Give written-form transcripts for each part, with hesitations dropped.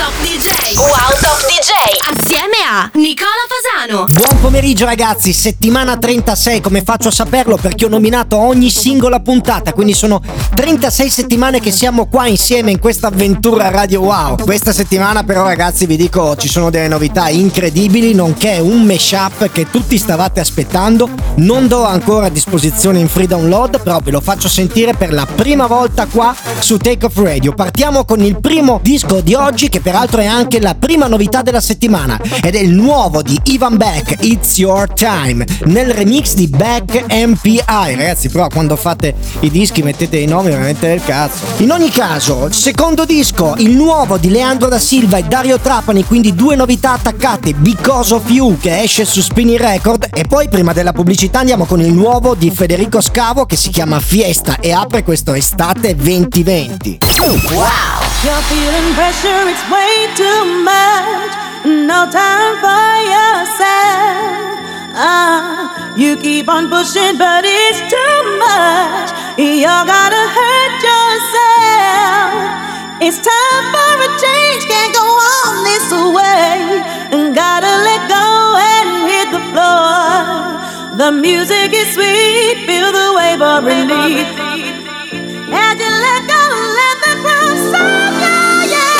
Top DJ. Wow Top DJ. Assieme a Nicola Fasano. Buon pomeriggio ragazzi, settimana 36, come faccio a saperlo? Perché ho nominato ogni singola puntata, quindi sono 36 settimane che siamo qua insieme in questa avventura Radio Wow. Questa settimana però ragazzi vi dico ci sono delle novità incredibili, nonché un mashup che tutti stavate aspettando. Non do ancora a disposizione in free download, però ve lo faccio sentire per la prima volta qua su Take Off Radio. Partiamo con il primo disco di oggi, che peraltro è anche la prima novità della settimana, ed è il nuovo di Ivan Beck, It's Your Time, nel remix di Beck MPI. Ragazzi, però quando fate i dischi mettete i nomi veramente del cazzo. In ogni caso, secondo disco, il nuovo di Leandro da Silva e Dario Trapani, quindi due novità attaccate, Because of You, che esce su Spinning Record, e poi prima della pubblicità andiamo con il nuovo di Federico Scavo che si chiama Fiesta e apre questo estate 2020. Wow. You're feeling pressure, it's way too much. No time for yourself. You keep on pushing, but it's too much. You're gonna hurt yourself. It's time for a change, can't go on this way. Gotta let go and hit the floor. The music is sweet, feel the wave of relief. As you let go, let the ground sound, yeah, yeah.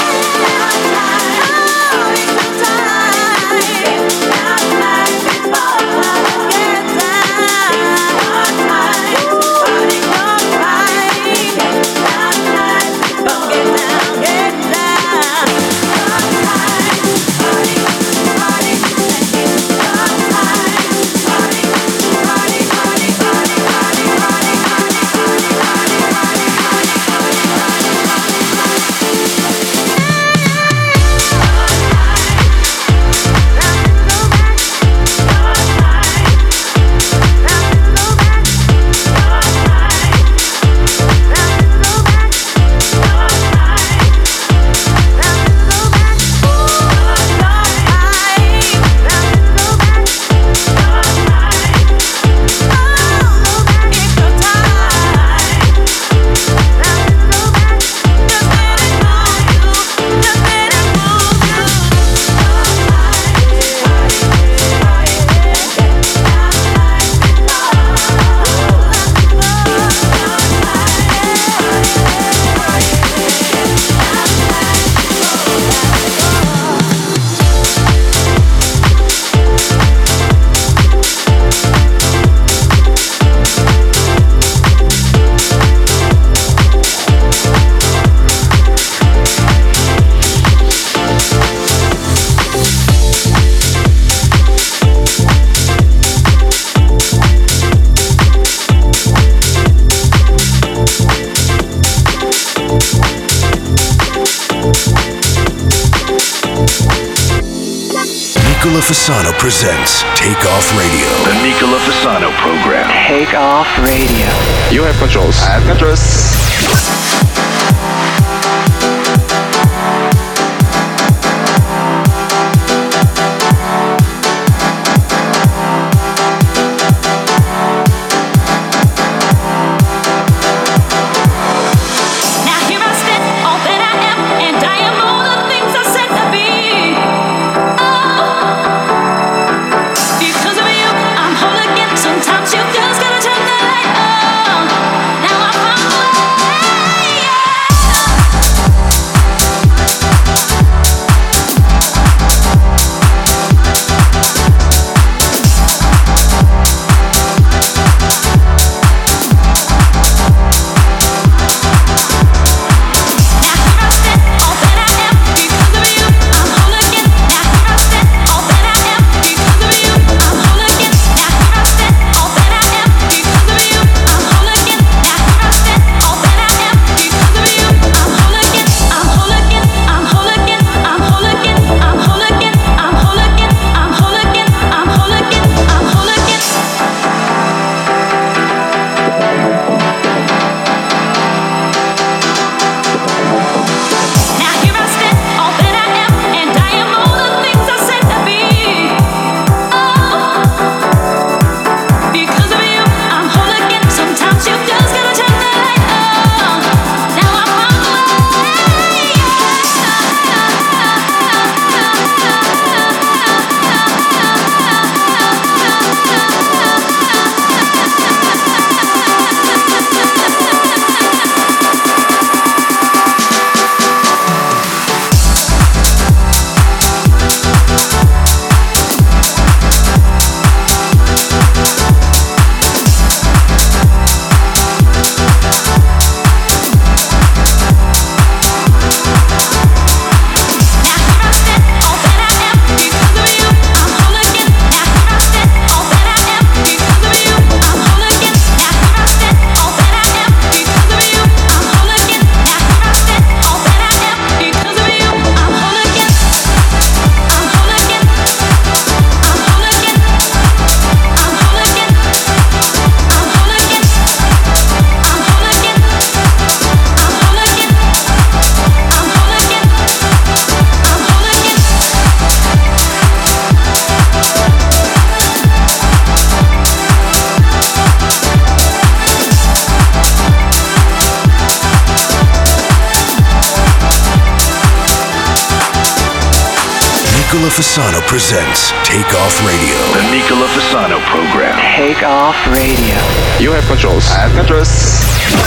Oh, it's the time. Now life is for get down. Party on right. Now life is for get down, get down. Party, Nicola Fasano presents Take Off Radio. The Nicola Fasano program. Take Off Radio. You have controls. I have controls. Sometimes you just gotta turn the light on. Now I found a way. Nicola Fasano presents Take Off Radio. The Nicola Fasano program. Take Off Radio. You have controls. I have controls.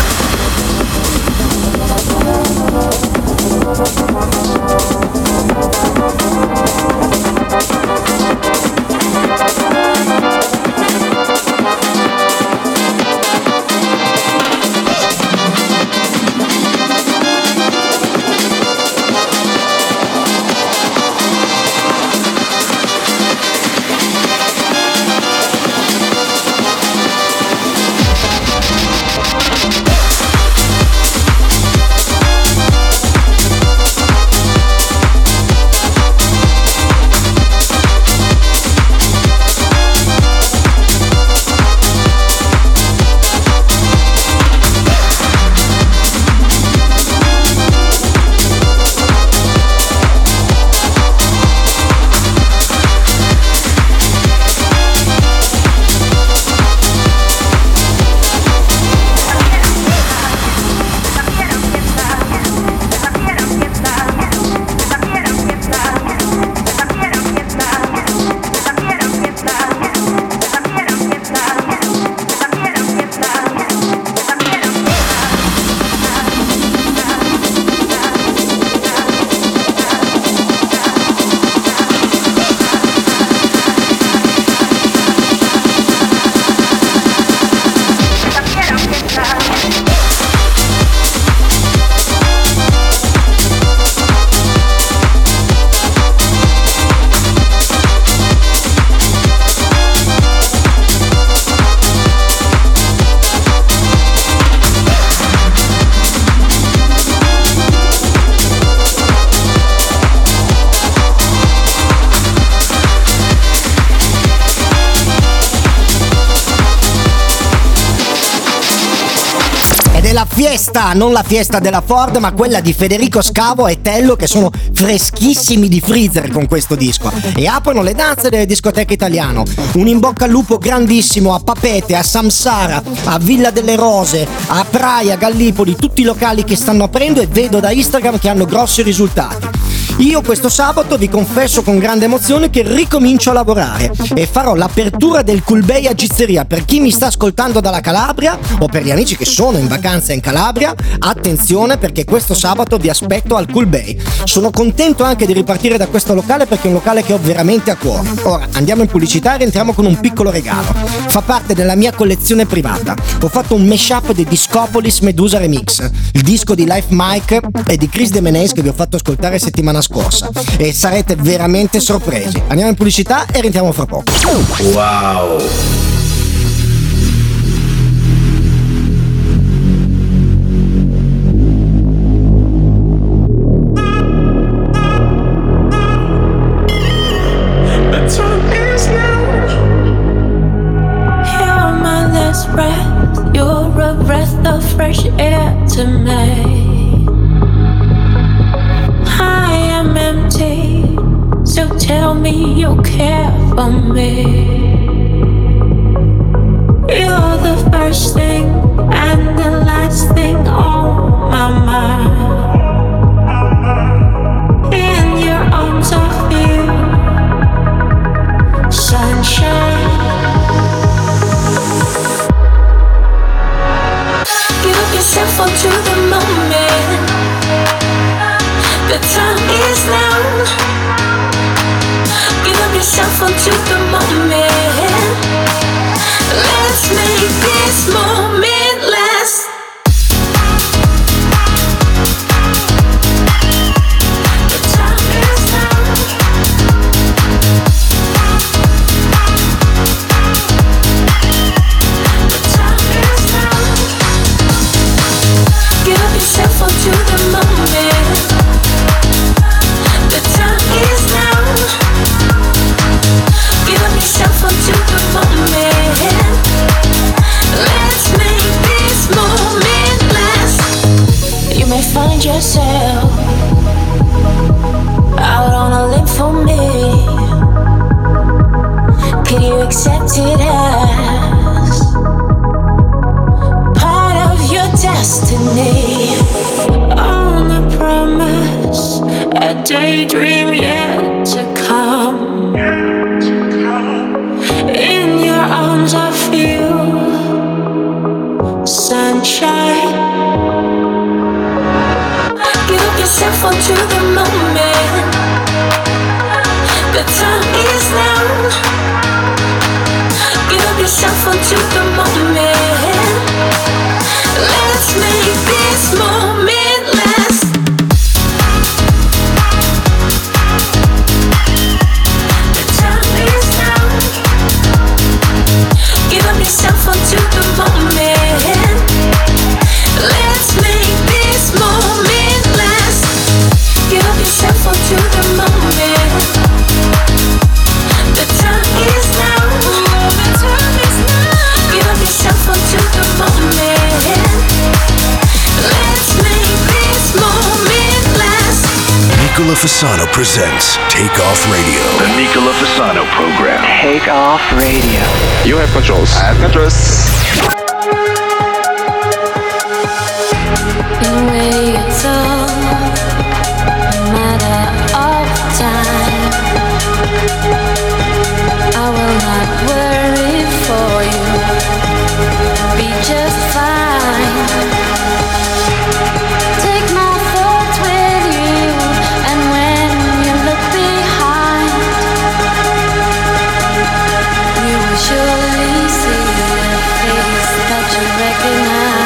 La fiesta, non la fiesta della Ford, ma quella di Federico Scavo e Tello, che sono freschissimi di freezer con questo disco e aprono le danze delle discoteche italiane. Un in bocca al lupo grandissimo a Papete, a Samsara, a Villa delle Rose, a Praia, Gallipoli, tutti i locali che stanno aprendo e vedo da Instagram che hanno grossi risultati. Io questo sabato vi confesso con grande emozione che ricomincio a lavorare e farò l'apertura del Cool Bay a Gizzeria. Per chi mi sta ascoltando dalla Calabria o per gli amici che sono in vacanza in Calabria, attenzione perché questo sabato vi aspetto al Cool Bay. Sono contento anche di ripartire da questo locale perché è un locale che ho veramente a cuore. Ora andiamo in pubblicità e rientriamo con un piccolo regalo. Fa parte della mia collezione privata. Ho fatto un mashup di Discopolis Medusa Remix, il disco di Life Mike e di Chris De Meneis che vi ho fatto ascoltare settimana scorsa e sarete veramente sorpresi. Andiamo in pubblicità e rientriamo fra poco. Wow. Fresh air to me. I am empty, so tell me you care for me. You're the first thing and the last thing on my mind. In your arms I feel sunshine. Yourself onto the moment. The time is now. Give up yourself onto the moment. Let's make this moment last. The time is now. The time is now. Give yourself onto the moment. The time is now. Give up yourself onto the moment. Let's make this moment last. You may find yourself out on a limb for me. Can you accept it as part of your destiny? On a promise, a daydream, yeah. to come. In your arms I feel sunshine. Give yourself onto the moment. The time is now. Give yourself onto the moment. Let's make this moment last. The time is now. Give yourself onto the moment. Let's make this moment last. Give yourself onto the moment. The time is now. The time is now. Give yourself onto the moment. Let's make this moment last. Nicola Fasano presents Take Off Radio. The Nicola Fasano program. Take Off Radio. You have controls. I have controls. In waves of matter of time, I will not worry for you. Be just fine. Take my thoughts with you, and when you look behind, you will surely see a face that you recognize.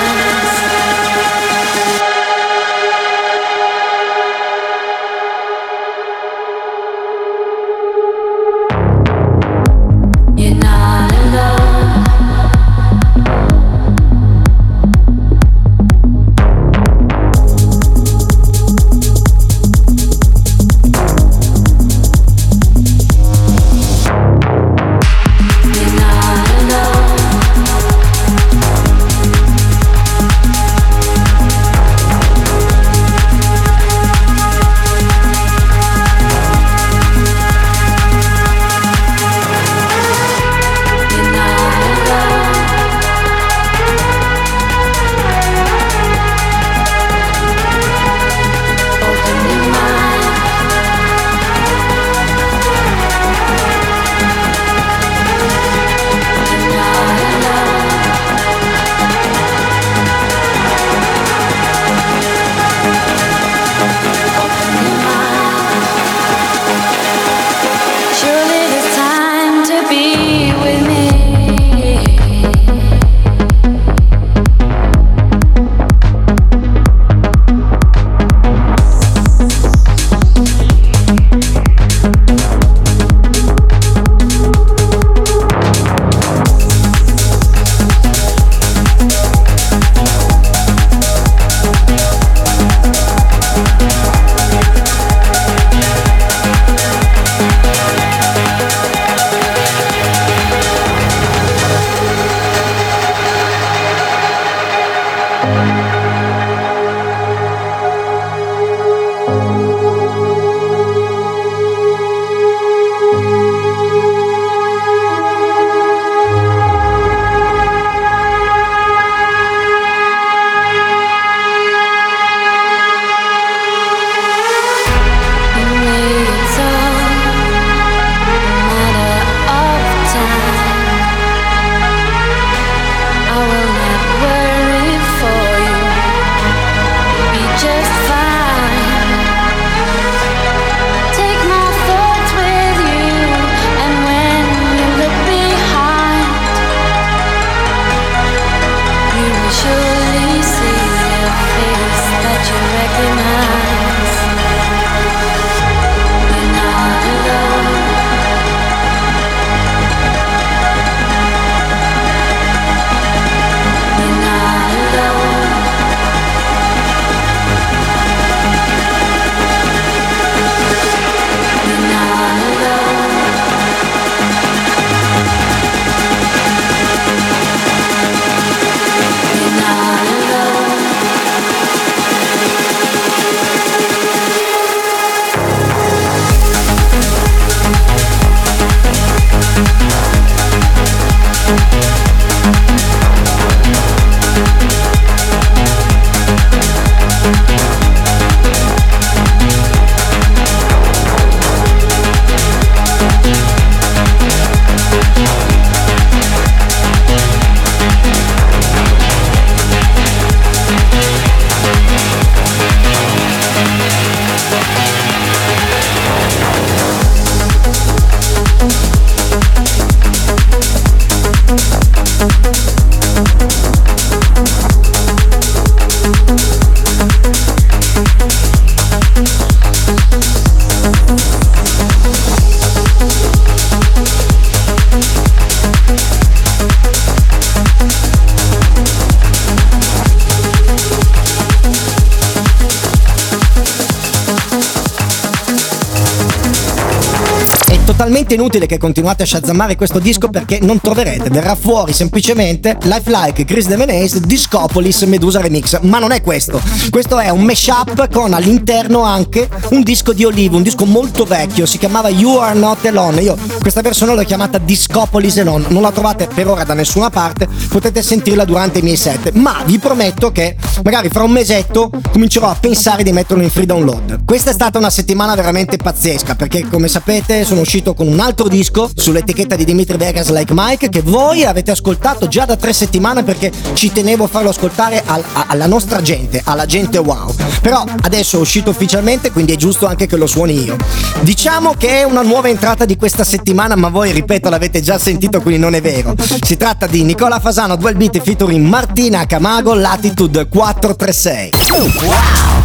totalmente inutile che continuate a shazammare questo disco perché non troverete, verrà fuori semplicemente Lifelike, Chris De Menace, Discopolis, Medusa Remix, ma non è questo. Questo è un mashup con all'interno anche un disco di Olive, un disco molto vecchio, si chiamava You Are Not Alone. Io questa versione l'ho chiamata Discopolis Alone, non la trovate per ora da nessuna parte, potete sentirla durante i miei set, ma vi prometto che magari fra un mesetto comincerò a pensare di metterlo in free download. Questa è stata una settimana veramente pazzesca perché, come sapete, sono uscito con un altro disco sull'etichetta di Dimitri Vegas, Like Mike, che voi avete ascoltato già da 3 settimane perché ci tenevo a farlo ascoltare alla nostra gente, alla gente wow. Però adesso è uscito ufficialmente, quindi è giusto anche che lo suoni io. Diciamo che è una nuova entrata di questa settimana, ma voi, ripeto, l'avete già sentito, quindi non è vero. Si tratta di Nicola Fasano, Dual Beat featuring Martina Camago, Latitude 436. Wow!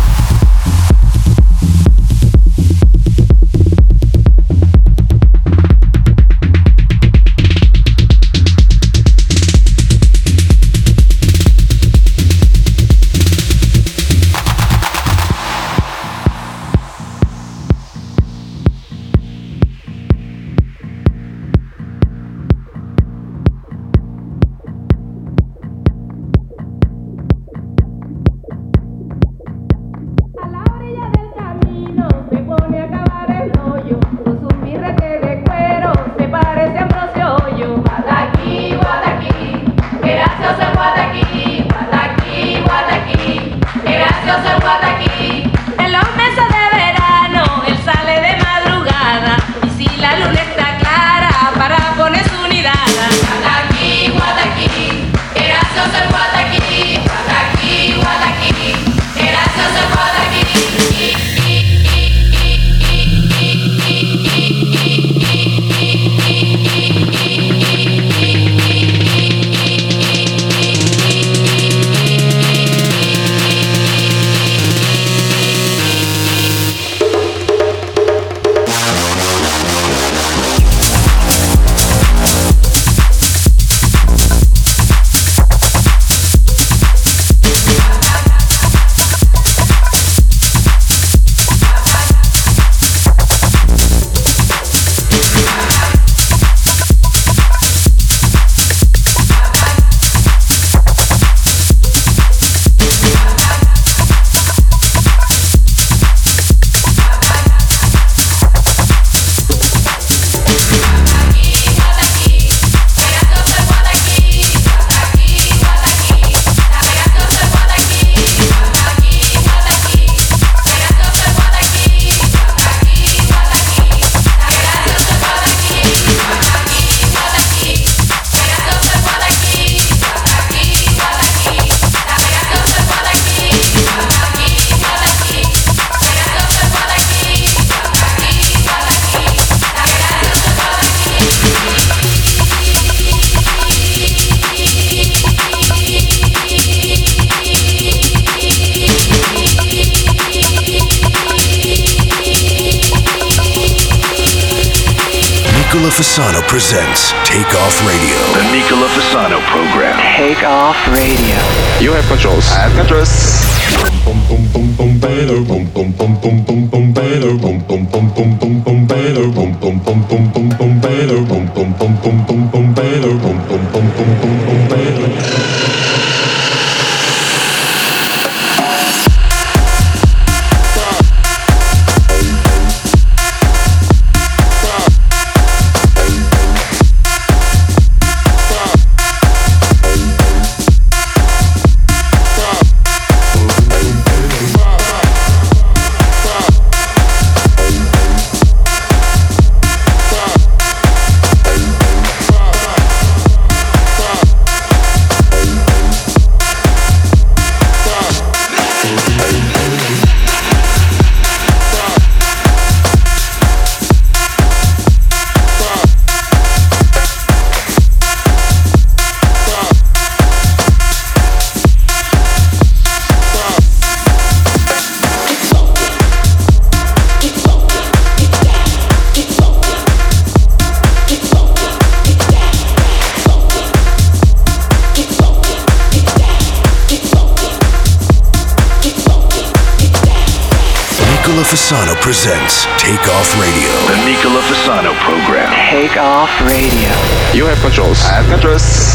Nicola Fasano presents Take Off Radio. The Nicola Fasano program. Take Off Radio. You have controls. I have controls. Fasano presents Take Off Radio. The Nicola Fasano program. Take Off Radio. You have controls. I have controls.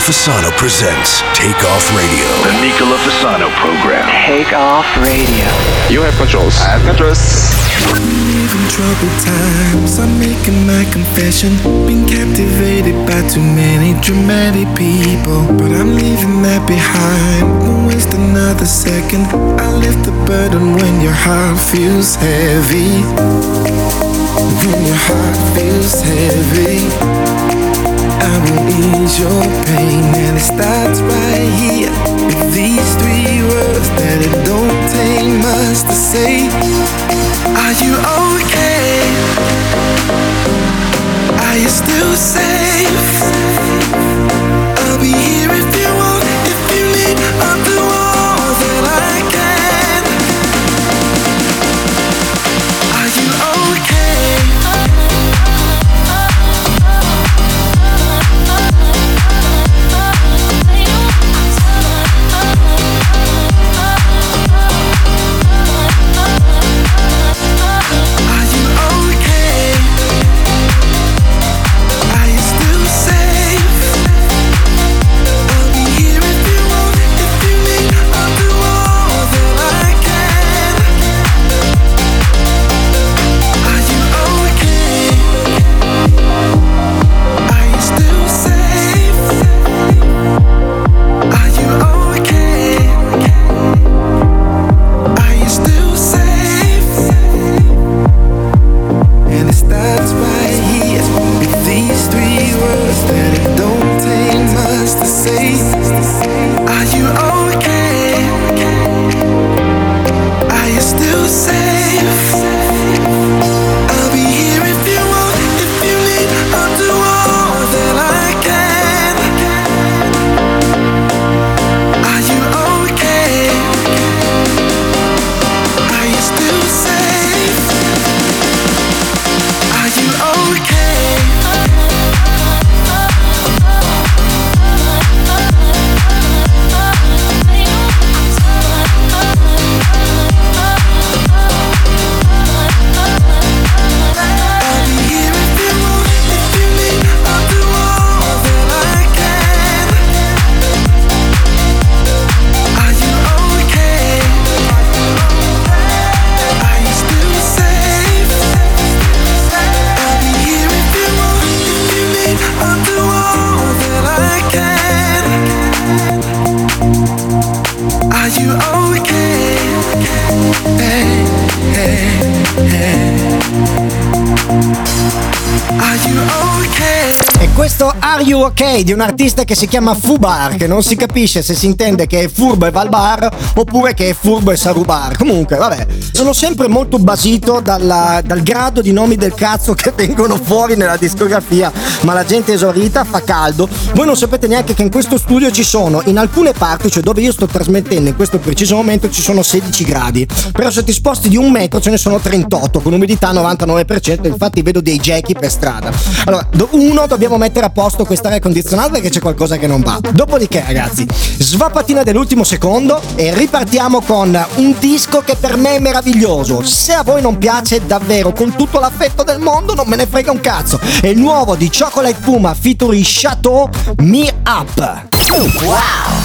Fasano presents Take Off Radio. The Nicola Fasano program. Take Off Radio. You have controls. I have controls. In troubled times, I'm making my confession. Been captivated by too many dramatic people, but I'm leaving that behind. Won't waste another second. I'll lift the burden when your heart feels heavy. When your heart feels heavy, I will ease your pain, and it starts right here with these 3 words that it don't take much to say. Are you okay? Are you still safe? I'll be here if you want, if you need. I'll do all that I can. Are you okay? E questo Are You Okay di un artista che si chiama Fubar, che non si capisce se si intende che è furbo e va al bar oppure che è furbo e sa rubar. Comunque vabbè, sono sempre molto basito dal grado di nomi del cazzo che vengono fuori nella discografia, ma la gente esaurita, fa caldo. Voi non sapete neanche che in questo studio ci sono, in alcune parti, cioè dove io sto trasmettendo in questo preciso momento, ci sono 16 gradi, però se ti sposti di 1 metro ce ne sono 38 con umidità 99%. Infatti vedo dei Jackie per strada. Allora, dobbiamo mettere a posto questa aria condizionata perché c'è qualcosa che non va. Dopodiché ragazzi, svapatina dell'ultimo secondo e ripartiamo con un disco che per me è meraviglioso. Se a voi non piace, davvero, con tutto l'affetto del mondo, non me ne frega un cazzo. È il nuovo di Chocolate Puma featuring Chateau, Me Up. Wow!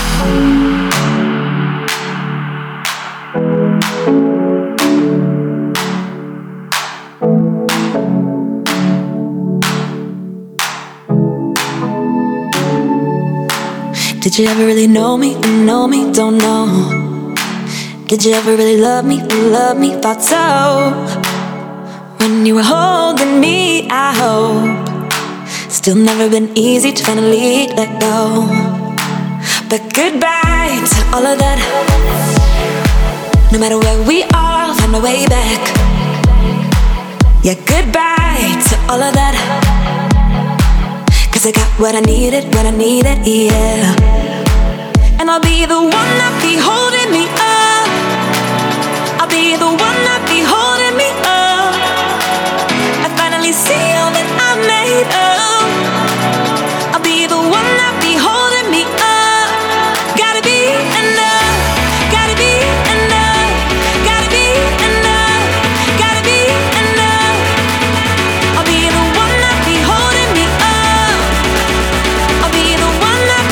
Did you ever really know me? Know me? Don't know. Did you ever really love me? Love me? Thought so. When you were holding me, I hope. Still never been easy to finally let go. But goodbye to all of that. No matter where we are, I'll find a way back. Yeah, goodbye to all of that. 'Cause I got what I needed, yeah. And I'll be the one that be holding me up. I'll be the one that be holding me up. I finally see all that I made of. I'll be the one that be holding me up. Gotta be enough, gotta be enough, gotta be enough, gotta be enough. I'll be the one that be holding me up. I'll be the one that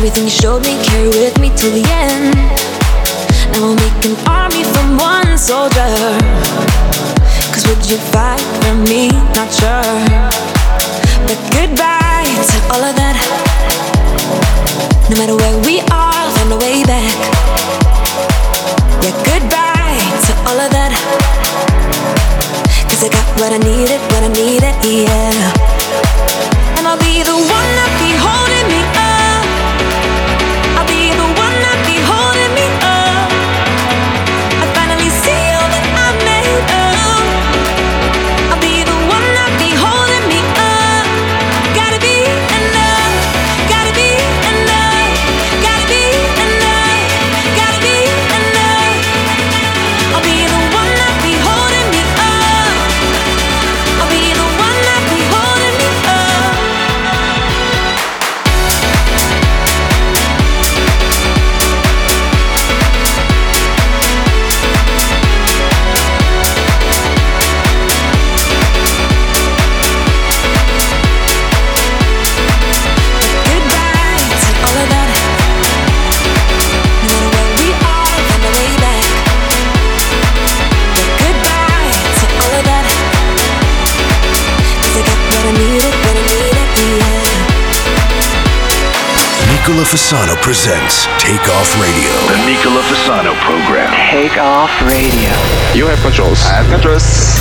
Everything you showed me, carry with me till the end. Now we'll make an army from one soldier. Cause would you fight for me? Not sure. But goodbye to all of that. No matter where we are, I'll find a way back. Yeah, goodbye to all of that. Cause I got what I needed, yeah. And I'll be the one that be holding me up. I'll be the one that be holding me up. I finally see all that I made of. I'll be the one that be holding me up. Gotta be enough, gotta be enough, gotta be enough, gotta be enough. I'll be the one that be holding me up. I'll be the one that be holding me up. Goodbye to all of that. No matter where we are, I'll find a way back. Yeah, goodbye to all of that. Cause I got what I needed, yeah. Nicola Fasano presents Take Off Radio. The Nicola Fasano program. Take Off Radio. You have controls. I have controls.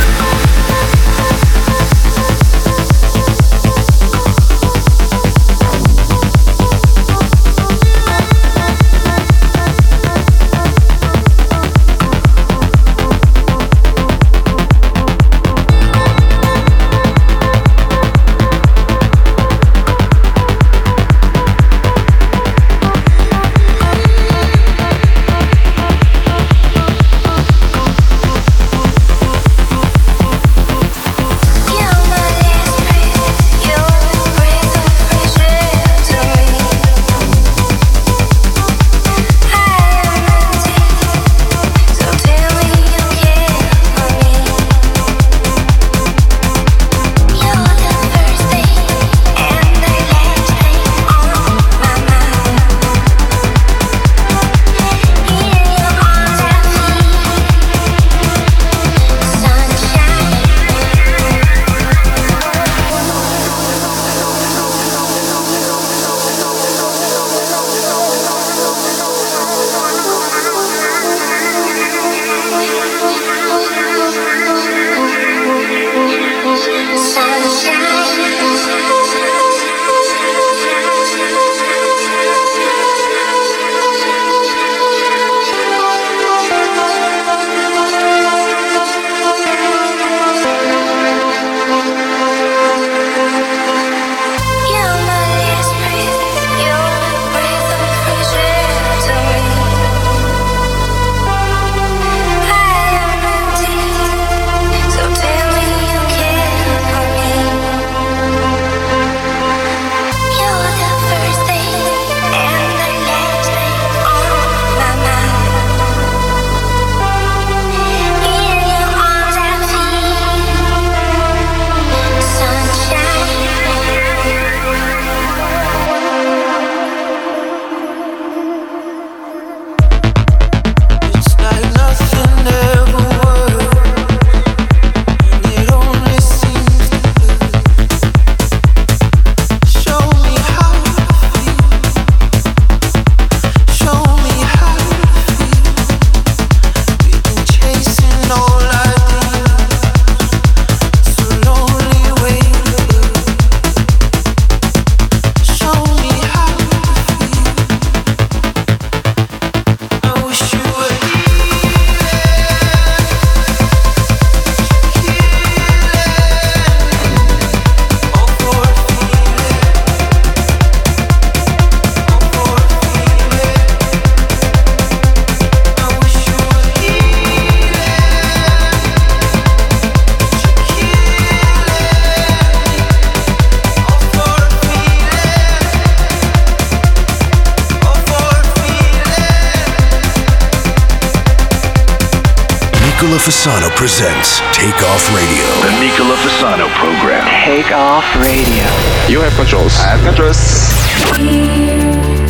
Nicola Fasano presents Take Off Radio. The Nicola Fasano program. Take Off Radio. You have controls. I have controls.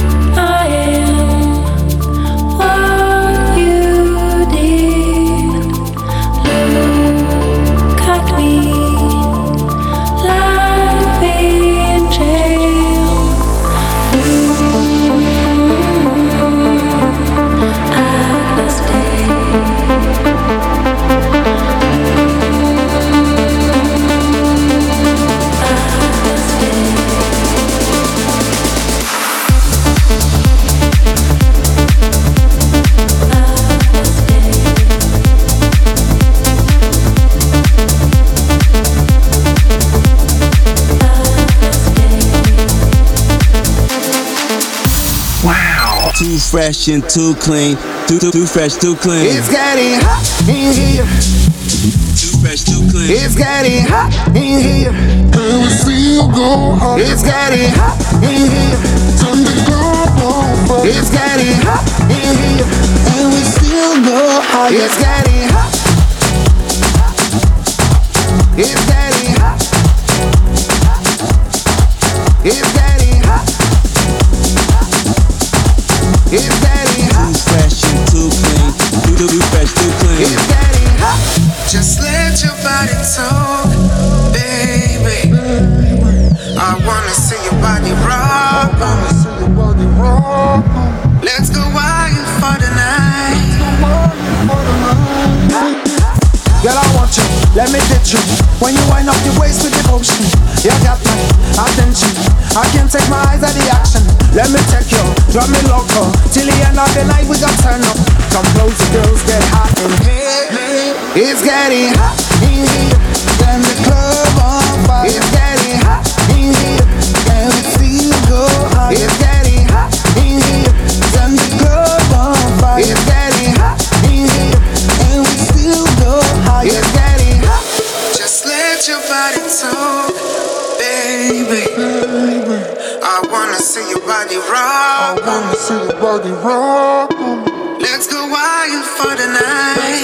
Too fresh and too clean. Too fresh, too clean. It's getting hot in here. Too fresh, too clean. It's getting hot in here. And we still go hard. It's getting hot in here. Turn the club on. It's getting hot in here. And we still go hard. It's getting hot. It's getting hot. It's getting hot. It's getting hot. Too fresh and too clean. Too fresh, too clean. It's getting hot. Just let your body talk, baby. I wanna see your body rock. Let's go wild for the night. Girl, I want you, let me get you. When you wind up your waist with devotion, you got my attention. I can't take my eyes out the action. Let me take you, drop me loco. Till the end of the night we gon' turn up. Come close, the girls get hot in here. It's getting hot in here. Turn the club on fire. It's getting hot in here. And we still go hard. It's getting hot in here. Turn the club on fire. It's getting hot in here. And we still go hard. It's getting hot. Just let your body talk, baby. I wanna see your body rock. Let's go wild for the night.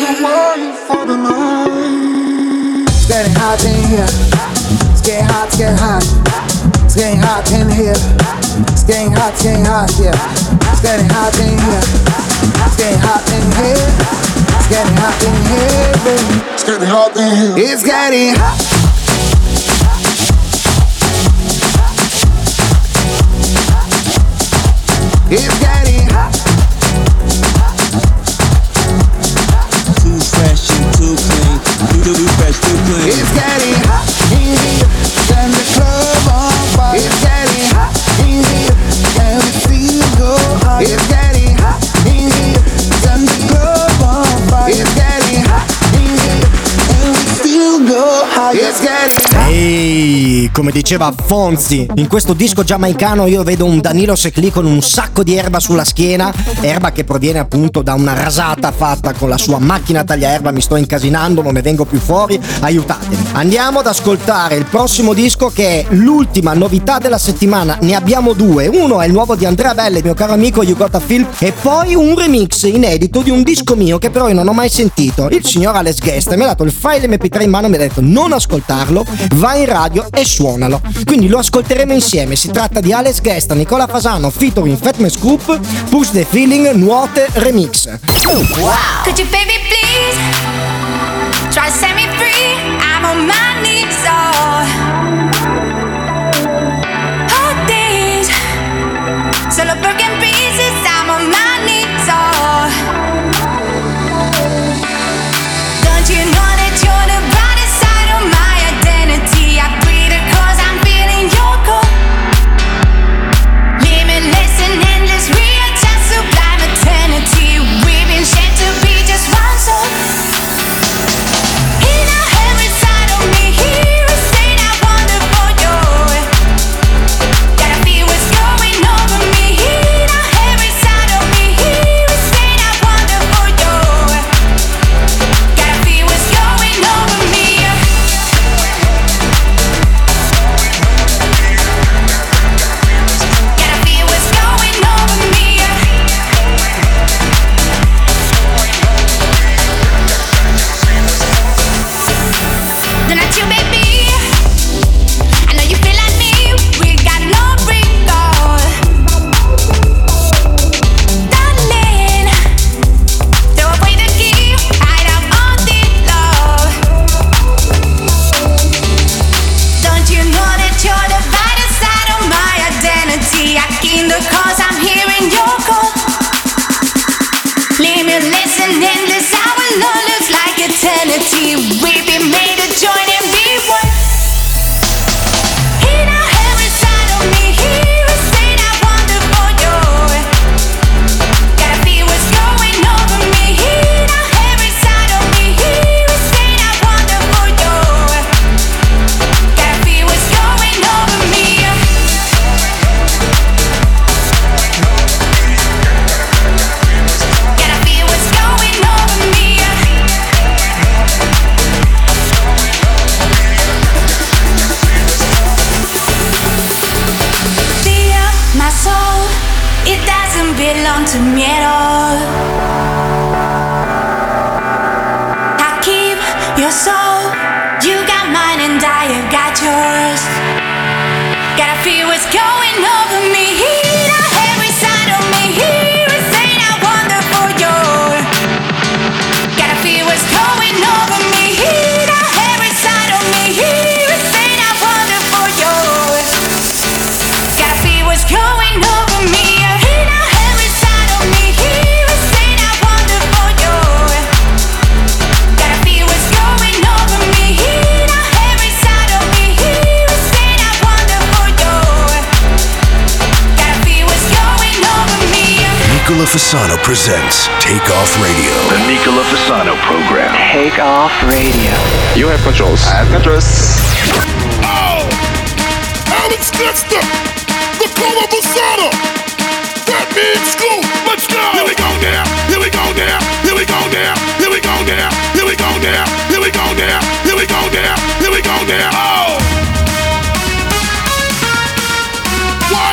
It's getting hot in here. It's getting hot, it's getting hot. It's getting hot in here. It's getting hot, yeah. It's getting hot in here. It's getting hot in here. It's getting hot in here, baby. It's getting hot in here. It's getting hot. It's getting hot. Too fresh and too clean. Too fresh, too clean. It's getting hot in here. Turn the club on fire. It's getting hot in here. And we still go hard. It's getting hot in here. Turn the club on fire. It's getting hot in here. And we still go hard. It's getting hot. Ehi, come diceva Fonzi, in questo disco giamaicano io vedo un Danilo Seclì con un sacco di erba sulla schiena, erba che proviene appunto da una rasata fatta con la sua macchina tagliaerba. Mi sto incasinando, non ne vengo più fuori, aiutatemi. Andiamo ad ascoltare il prossimo disco, che è l'ultima novità della settimana. Ne abbiamo due: uno è il nuovo di Andrea Belle, il mio caro amico You Got a Feel, e poi un remix inedito di un disco mio che però io non ho mai sentito. Il signor Alex Guest mi ha dato il file MP3 in mano e mi ha detto: non ascoltarlo, vai in radio e suonalo. Quindi lo ascolteremo insieme. Si tratta di Alex Guest, Nicola Fasano featuring Fatman Scoop, Push the Feeling, Nuote Remix. Wow. Could you baby please try to set me free? I'm on my knees, oh. All these solo broken pieces. I'm on my knees, oh. Don't you know that you're the brightest side of my identity? I breathe it 'cause I'm feeling your cold. Limitless and endless, real time, sublime eternity. We've been shaped to be just one soul. In every side of me, here is saying I wonder for you. Gotta feel what's going over me. In every side of me, here is saying I wonder for you. Gotta feel what's going over me. Gotta feel what's going over me. Then I you, baby. I know you feel like me. We got no recall. Darling, throw away the key. Hide out all the love. Don't you know that you're the brightest side of my identity? I came because I'm hearing your call. Limitless and endless, our love looks like eternity. We've been made to join and be one. In every side of me, here is saying I wonder for you. Gotta feel what's going over me. In every side of me, here is saying I wonder for you. Gotta feel what's going over me. belong to me at all. I keep your soul, you got mine and I have got yours. Gotta feel what's going over me, heat every side of me, here is saying how wonderful you're. Gotta feel what's going over me, heat every side of me, here is saying how wonderful you're. Gotta feel what's going over me, heat every side of me, here is saying how wonderful you're. Gotta feel what's going over me, heat every side of me, here is saying how wonderful you're. Gotta feel what's going over me. Nicola Fasano presents Take Off Radio. The Nicola Fasano program. Take Off Radio. You have controls. I have controls. Oh! Alex Dexter! Nicola Fasano! That means school! Let's go! Here we go now! Here we go now! Here we go now! Here we go now! Here we go now! Here we go now! Here we go now! Here we go now! Oh! What?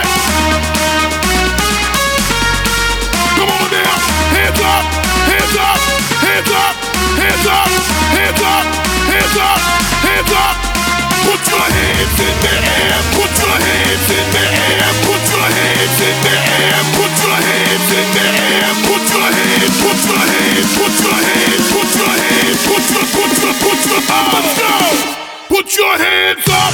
Come on now! Hands up! Hands up! Hands up! Hands up! Hands up! Hands up! Hands up! Put your hands in the air! Put your hands in the air! Put your hands in the air! Put your hands in the air! Put your hands! Put your hands! Put your hands! Put your hands! Put your let's go! Put your hands up!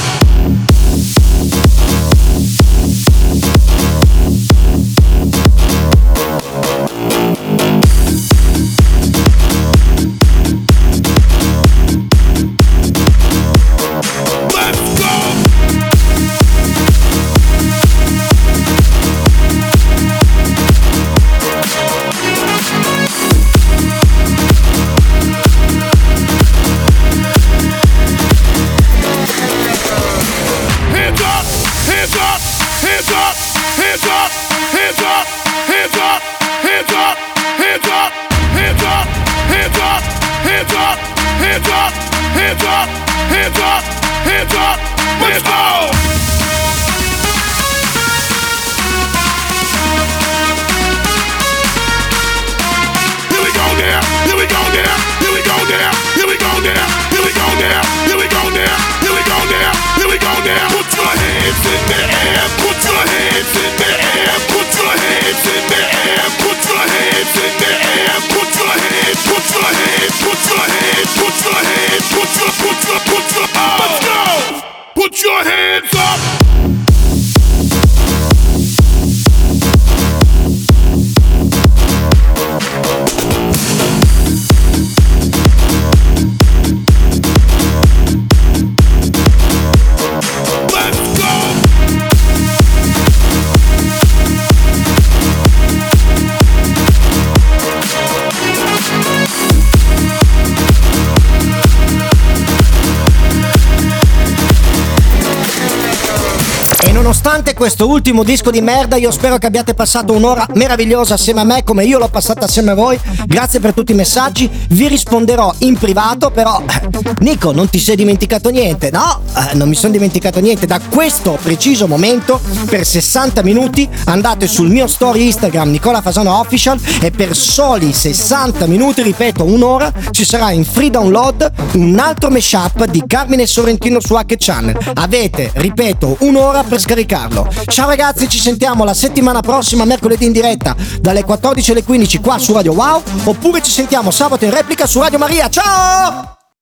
Nonostante questo ultimo disco di merda, io spero che abbiate passato un'ora meravigliosa assieme a me, come io l'ho passata assieme a voi. Grazie per tutti i messaggi, vi risponderò in privato, però Nico, non ti sei dimenticato niente? No, non mi sono dimenticato niente. Da questo preciso momento, per 60 minuti, andate sul mio story Instagram Nicola Fasano Official e per soli 60 minuti, ripeto un'ora, ci sarà in free download un altro mashup di Carmine Sorrentino su Hack Channel. Avete, ripeto, un'ora per scaricarlo. Ciao ragazzi, ci sentiamo la settimana prossima, mercoledì in diretta dalle 14 alle 15 qua su Radio Wow, oppure ci sentiamo sabato in replica su Radio Maria. Ciao!